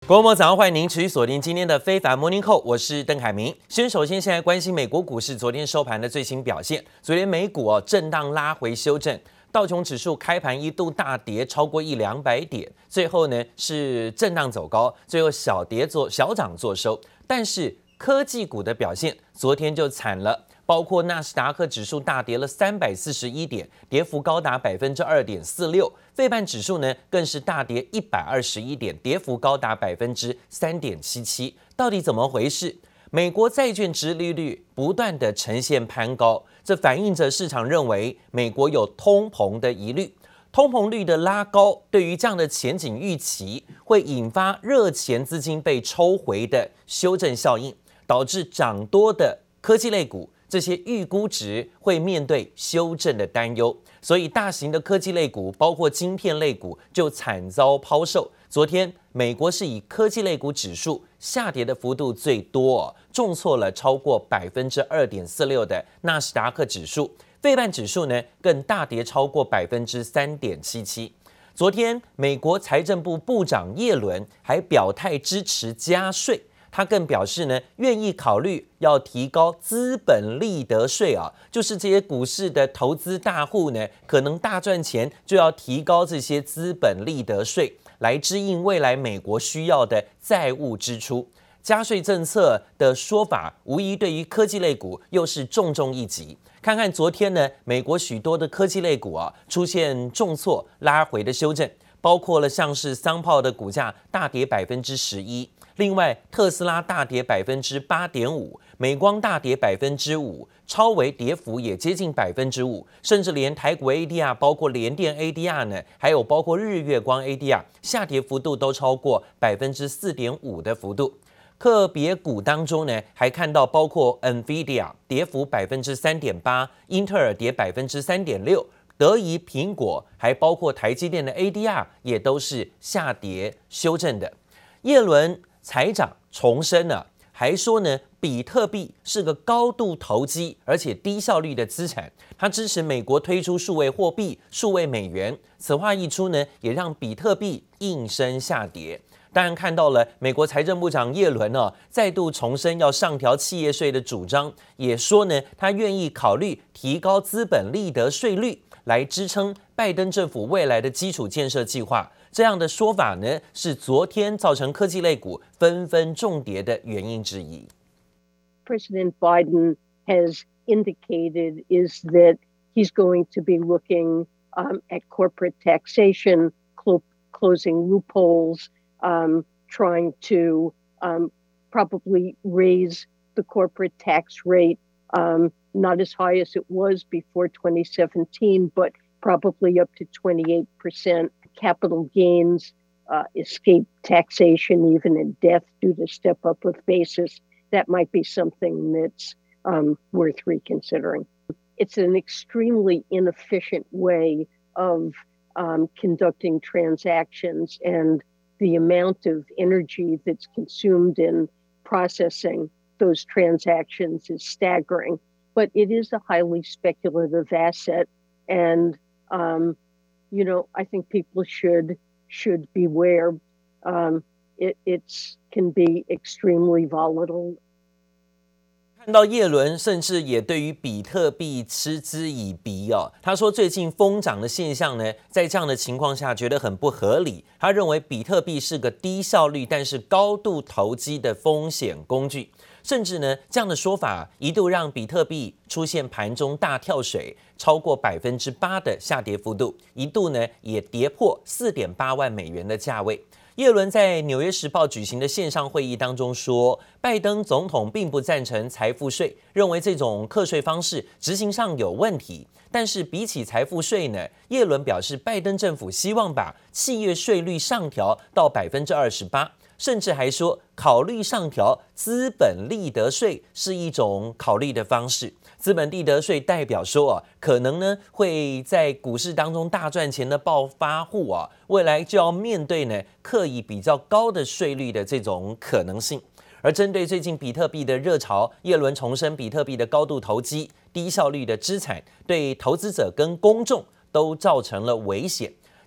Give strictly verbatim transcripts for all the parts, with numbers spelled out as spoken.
國際早上歡迎您持續鎖定今天的非凡 Morning Call， 我是鄧凱明。先首先現在關心美國股市昨天收盤的最新表現。昨天美股哦震盪拉回修正，道瓊指數開盤一度大跌超過一兩百點，最後呢是震盪走高，最後小跌做小漲做收。但是科技股的表現昨天就慘了。包括納斯達克指數大跌了三百四十一點，跌幅高達百分之二點四六。費半指數呢更是大跌一百二十一點，跌幅高達百分之三點七七。到底怎麼回事？美國債券殖利率不斷的呈現攀高，這反映着市場認為美國有通膨的疑慮。通膨率的拉高，對於這樣的前景預期，會引發熱錢資金被抽回的修正效應，導致漲多的科技類股。這些預估值會面對修正的擔憂，所以大型的科技類股，包括晶片類股，就慘遭拋售。昨天，美國是以科技類股指數下跌的幅度最多，重挫了超過百分之二點四六的納斯達克指數，費半指數呢更大跌超過百分之三點七七。昨天，美國財政部部長葉倫還表態支持加稅。他更表示呢，願意考慮要提高資本利得稅啊，就是這些股市的投資大戶呢，可能大賺錢，就要提高這些資本利得稅，來支應未來美國需要的債務支出。加稅政策的說法，無疑對於科技類股又是重重一擊。看看昨天呢，美國許多的科技類股啊，出現重挫拉回的修正，包括了像是商泡的股價大跌百分之十一。另外，特斯拉大跌百分之八點五，美光大跌百分之五，超微跌幅也接近百分之五，甚至連台股 A D R， 包括聯電 A D R 呢，還有包括日月光 A D R， 下跌幅度都超過百分之四點五的幅度。個別股當中呢，還看到包括 NVIDIA 跌幅百分之三點八，英特爾跌百分之三點六，德儀、蘋果，還包括台積電的 A D R 也都是下跌修正的。葉倫財長重申了，還說呢，比特幣是個高度投機而且低效率的資產。他支持美國推出數位貨幣、數位美元。此話一出呢，也讓比特幣應聲下跌。當然看到了美國財政部長葉倫呢、啊，再度重申要上調企業稅的主張，也說呢，他願意考慮提高資本利得稅率，來支撐拜登政府未來的基礎建設計劃。這樣的說法呢，是昨天造成科技類股紛紛重跌的原因之一。 President Biden has indicated is that he's going to be looking um, at corporate taxation, clo- closing loopholes, um, trying to um, probably raise the corporate tax rate, um, not as high as it was before twenty seventeen, but probably up to twenty-eight percent. Capital gains, uh, escape taxation, even in death due to step up of basis. That might be something that's um, worth reconsidering. It's an extremely inefficient way of um, conducting transactions, and the amount of energy that's consumed in processing those transactions is staggering. But it is a highly speculative asset, and um, you know, I think people should should beware. Um, it it's can be extremely volatile. 看到葉倫甚至也對於比特幣嗤之以鼻哦，他說最近瘋漲的現象呢，在這樣的情況下覺得很不合理。他認為比特幣是個低效率但是高度投機的風險工具。甚至呢，這樣的說法一度讓比特幣出現盤中大跳水，超過百分之八的下跌幅度，一度呢也跌破四點八萬美元的價位。葉倫在《紐約時報》舉行的線上會議當中說，拜登總統並不贊成財富稅，認為這種課稅方式執行上有問題。但是比起財富稅呢，葉倫表示，拜登政府希望把企業稅率上調到百分之二十八。甚至還說，考慮上調資本利得稅是一種考慮的方式。資本利得稅代表說啊，可能呢會在股市當中大賺錢的暴發戶啊，未來就要面對呢課以比較高的稅率的這種可能性。而針對最近比特幣的熱潮，葉倫重申，比特幣的高度投機、低效率的資產，對投資者跟公眾都造成了危險。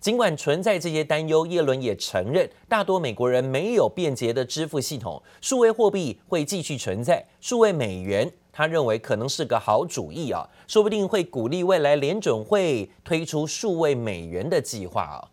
儘管存在這些擔憂，耶倫也承認，大多美國人沒有便捷的支付系統，數位貨幣會繼續存在，數位美元，他認為可能是個好主意啊，說不定會鼓勵未來聯準會推出數位美元的計劃啊。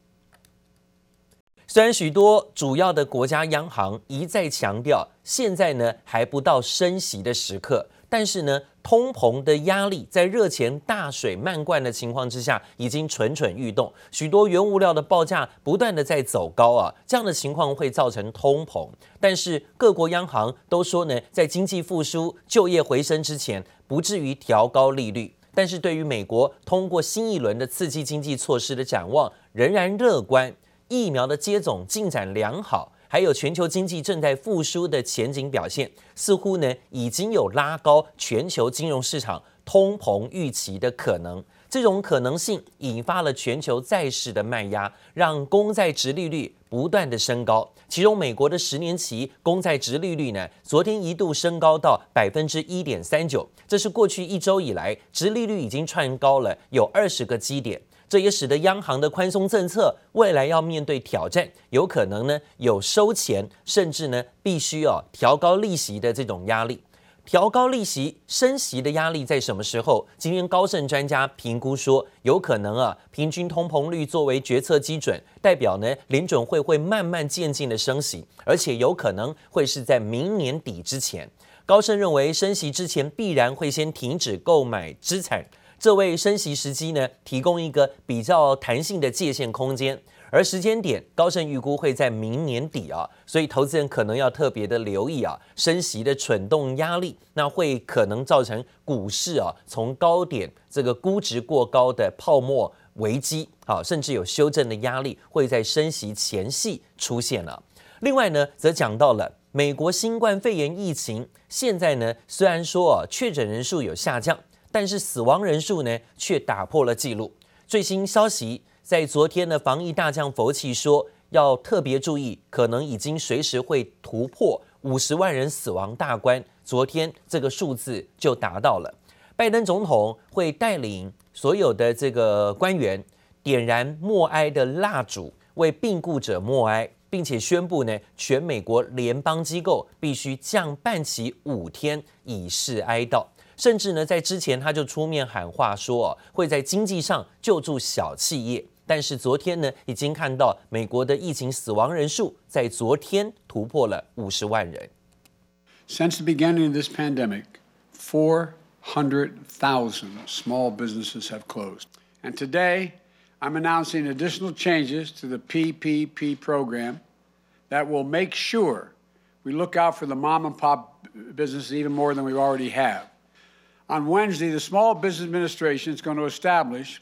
雖然許多主要的國家央行一再強調，現在呢還不到升息的時刻，但是呢，通膨的壓力在熱錢大水漫灌的情況之下，已經蠢蠢欲動。許多原物料的報價不斷的在走高啊，這樣的情況會造成通膨。但是各國央行都說呢，在經濟復甦、就業回升之前，不至於調高利率。但是對於美國通過新一輪的刺激經濟措施的展望，仍然樂觀。疫苗的接種進展良好，還有全球經濟正在復甦的前景表現，似乎呢已經有拉高全球金融市場通膨預期的可能。這種可能性引發了全球債市的賣壓，讓公債殖利率不斷的升高。其中，美國的十年期公債殖利率呢，昨天一度升高到百分之一點三九，這是過去一周以來殖利率已經竄高了有二十個基點。這也使得央行的寬鬆政策未來要面對挑戰，有可能呢有收錢，甚至呢必須哦調高利息的這種壓力。調高利息、升息的壓力在什麼時候？今天高盛專家評估說，有可能啊平均通膨率作為決策基準，代表呢聯準會會慢慢漸進的升息，而且有可能會是在明年底之前。高盛認為升息之前必然會先停止購買資產。這為升息時機呢提供一個比較彈性的界限空間，而時間點高盛預估會在明年底啊，所以投資人可能要特別的留意啊，升息的蠢動壓力，那會可能造成股市啊從高點這個估值過高的泡沫危機啊，甚至有修正的壓力會在升息前夕出現了。另外呢，則講到了美國新冠肺炎疫情，現在呢雖然說啊確診人數有下降，但是死亡人數呢，卻打破了紀錄。最新消息，在昨天的防疫大將佛奇說，要特別注意，可能已經隨時會突破五十萬人死亡大關。昨天這個數字就達到了。拜登總統會帶領所有的這個官員點燃默哀的蠟燭，為病故者默哀，並且宣布呢，全美國聯邦機構必須降半旗五天，以示哀悼。甚至呢，在之前他就出面喊話說，哦，會在經濟上救助小企業。但是昨天呢，已經看到美國的疫情死亡人數在昨天突破了五十萬人。 Since the beginning of this pandemic, four hundred thousand small businesses have closed. And today, I'm announcing additional changes to the P P P program that will make sure we look out for the mom and pop businesses even more than we already have. On Wednesday, the Small Business Administration is going to establish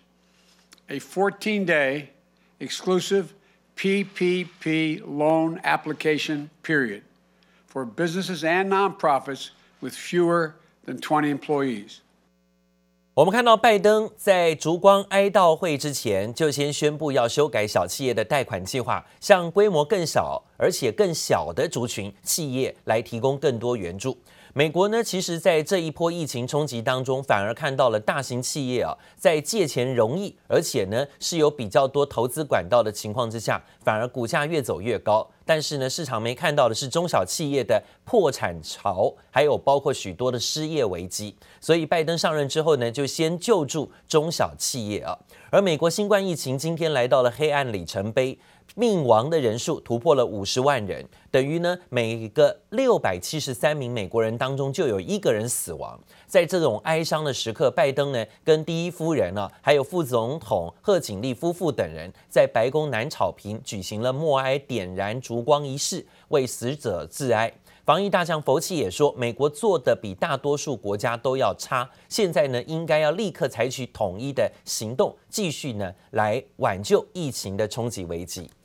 a fourteen-day exclusive P P P loan application period for businesses and nonprofits with fewer than twenty employees. 我們看到拜登在燭光哀悼會之前，就先宣布要修改小企業的貸款計劃，向規模更小而且更小的族群企業來提供更多援助。美國呢，其實在這一波疫情衝擊當中，反而看到了大型企業啊，在借錢容易，而且呢是有比較多投資管道的情況之下，反而股價越走越高。但是呢，市場沒看到的是中小企業的破產潮，還有包括許多的失業危機。所以拜登上任之後呢，就先救助中小企業啊。而美國新冠疫情今天來到了黑暗里程碑。命亡的人數突破了五十萬人，等於呢每個六百七十三名美國人當中就有一個人死亡。在這種哀傷的時刻，拜登呢跟第一夫人啊，還有副總統賀錦麗夫婦等人，在白宮南草坪舉行了默哀點燃燭光儀式，為死者致哀。防疫大將佛奇也說，美國做的比大多數國家都要差，現在呢應該要立刻採取統一的行動，繼續呢來挽救疫情的衝擊危機。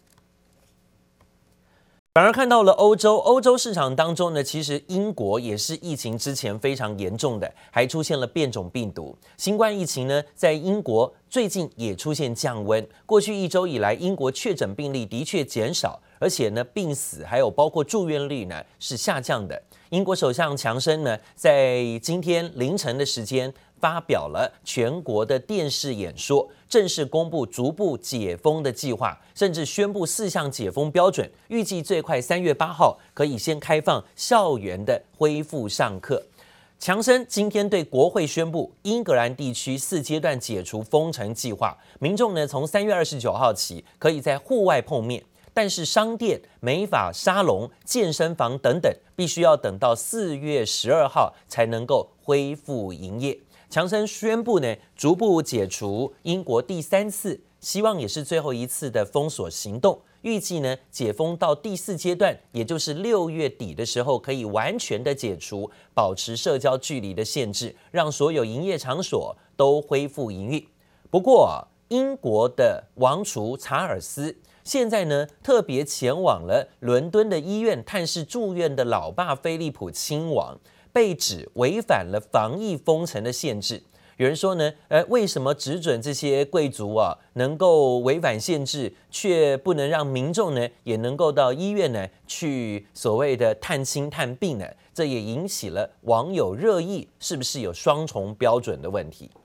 反而看到了歐洲，歐洲市場當中呢，其實英國也是疫情之前非常嚴重的，還出現了變種病毒。新冠疫情呢，在英國最近也出現降溫。過去一周以來，英國確診病例的確減少，而且呢，病死還有包括住院率呢是下降的。英國首相強生呢，在今天凌晨的時間發表了全國的電視演說，正式公布逐步解封的計劃，甚至宣布四項解封標準，預計最快三月八號可以先開放校園的恢復上課。強生今天對國會宣布，英格蘭地區四階段解除封城計劃，民眾呢從三月二十九號起可以在戶外碰面，但是商店、美髮沙龍、健身房等等，必須要等到四月十二號才能夠恢復營業。強生宣布呢，逐步解除英國第三次，希望也是最後一次的封鎖行動。預計呢，解封到第四階段，也就是六月底的時候，可以完全的解除保持社交距離的限制，讓所有營業場所都恢復營運。不過，英國的王儲查爾斯現在呢，特別前往了倫敦的醫院探視住院的老爸菲利普親王，被指違反了防疫封城的限制。有人說呢，呃，為什麼只准這些貴族啊能夠違反限制，卻不能讓民眾呢也能夠到醫院呢去所謂的探親探病呢？這也引起了網友熱議，是不是有雙重標準的問題？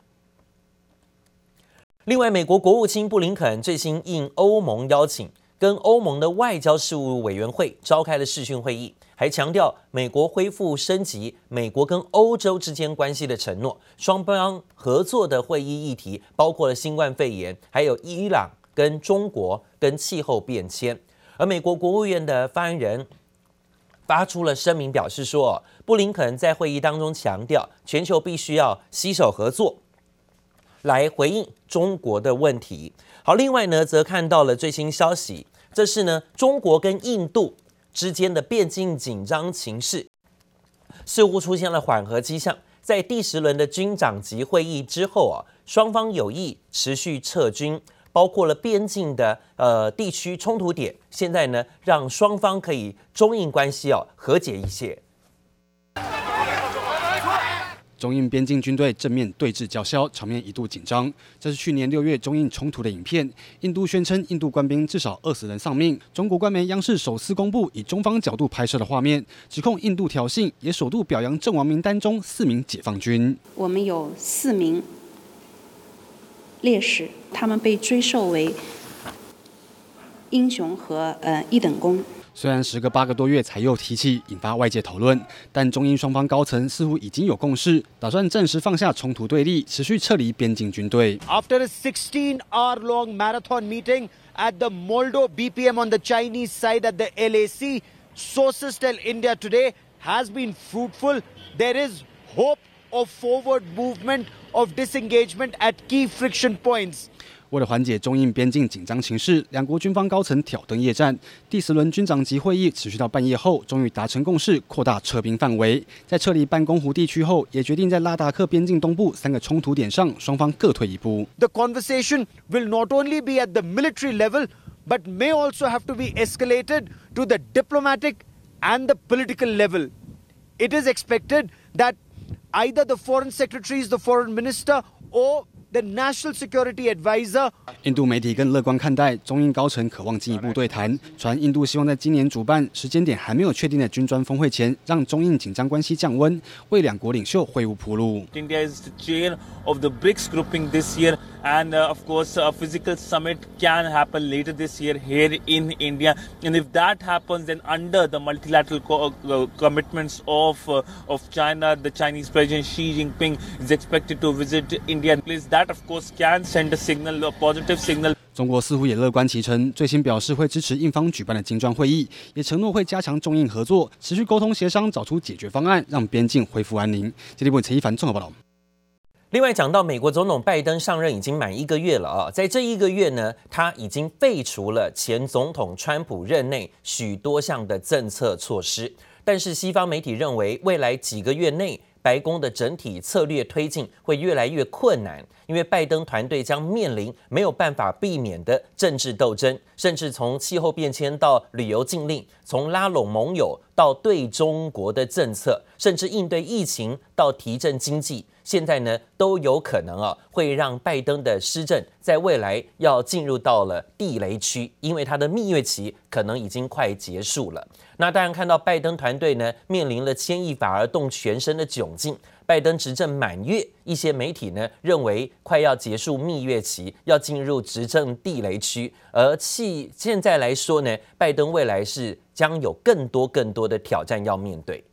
另外，美國國務卿布林肯最新應歐盟邀請，跟歐盟的外交事務委員會召開了視訊會議，還強調美國恢復升級美國跟歐洲之間關係的承諾。雙方合作的會議議題包括了新冠肺炎，還有伊朗跟中國跟氣候變遷。而美國國務院的發言人發出了聲明，表示說，布林肯在會議當中強調，全球必須要攜手合作，來回應中國的問題。好，另外呢，則看到了最新消息，這是呢中國跟印度之間的邊境緊張情勢似乎出現了緩和跡象。在第十輪的軍長級會議之後啊，雙方有意持續撤軍，包括了邊境的呃地區衝突點，現在呢讓雙方可以中印關係哦和解一些。 中印邊境軍隊正面對峙叫囂，場面一度緊張。這是去年六月中印衝突的影片。印度宣稱印度官兵至少二十人喪命。中國官媒央視首次公布以中方角度拍攝的畫面，指控印度挑釁，也首度表揚陣亡名單中四名解放軍。 我們有四名烈士，他們被追授為英雄和呃一等功。 雖然時隔八個多月才又提起，引發外界討論，但中印雙方高層似乎已經有共識，打算暫時放下衝突對立，持續撤離邊境軍隊。 After a sixteen-hour-long marathon meeting at the Moldo B P M on the Chinese side at the L A C, sources tell India today has been fruitful. There is hope of forward movement of disengagement at key friction points. 為了緩解中印邊境緊張情勢，兩國軍方高層挑燈夜戰。第十輪軍長級會議持續到半夜後，終於達成共識，擴大撤兵範圍。在撤離班公湖地區後，也決定在拉達克邊境東部三個衝突點上，雙方各退一步。 The conversation will not only be at the military level, but may also have to be escalated to the diplomatic and the political level. It is expected that either the foreign secretaries, the foreign minister, or the National Security Advisor. 印度媒體更樂觀看待，中印高層渴望進一步對談。傳印度希望在今年主辦、時間點還沒有確定的金磚峰會前，讓中印緊張關係降溫，為兩國領袖會晤鋪路。 India is the chair of the BRICS grouping this year, and uh, of course, a physical summit can happen later this year here in India. And if that happens, then under the multilateral co- uh, commitments of uh, of China, the Chinese President Xi Jinping is expected to visit India. Please, that of course can send a signal, a positive signal. 中國似乎也樂觀其成，最新表示會支持印方舉辦的金磚會議，也承諾會加強中印合作，持續溝通協商，找出解決方案，讓邊境恢復安寧。這裡為陳一凡綜合報道。 另外講到美國總統拜登上任已經滿一個月了啊，在這一個月呢，他已經廢除了前總統川普任內許多項的政策措施，但是西方媒體認為，未來幾個月內，白宮的整體策略推進會越來越困難，因為拜登團隊將面臨沒有辦法避免的政治鬥爭，甚至從氣候變遷到旅遊禁令，從拉攏盟友到對中國的政策，甚至應對疫情到提振經濟， 現在呢都有可能啊，會讓拜登的施政在未來要進入到了地雷區，因為他的蜜月期可能已經快結束了。那當然看到拜登團隊呢面臨了牽一髮而動全身的窘境。拜登執政滿月，一些媒體呢認為快要結束蜜月期，要進入執政地雷區。而現現在來說呢，拜登未來是將有更多更多的挑戰要面對。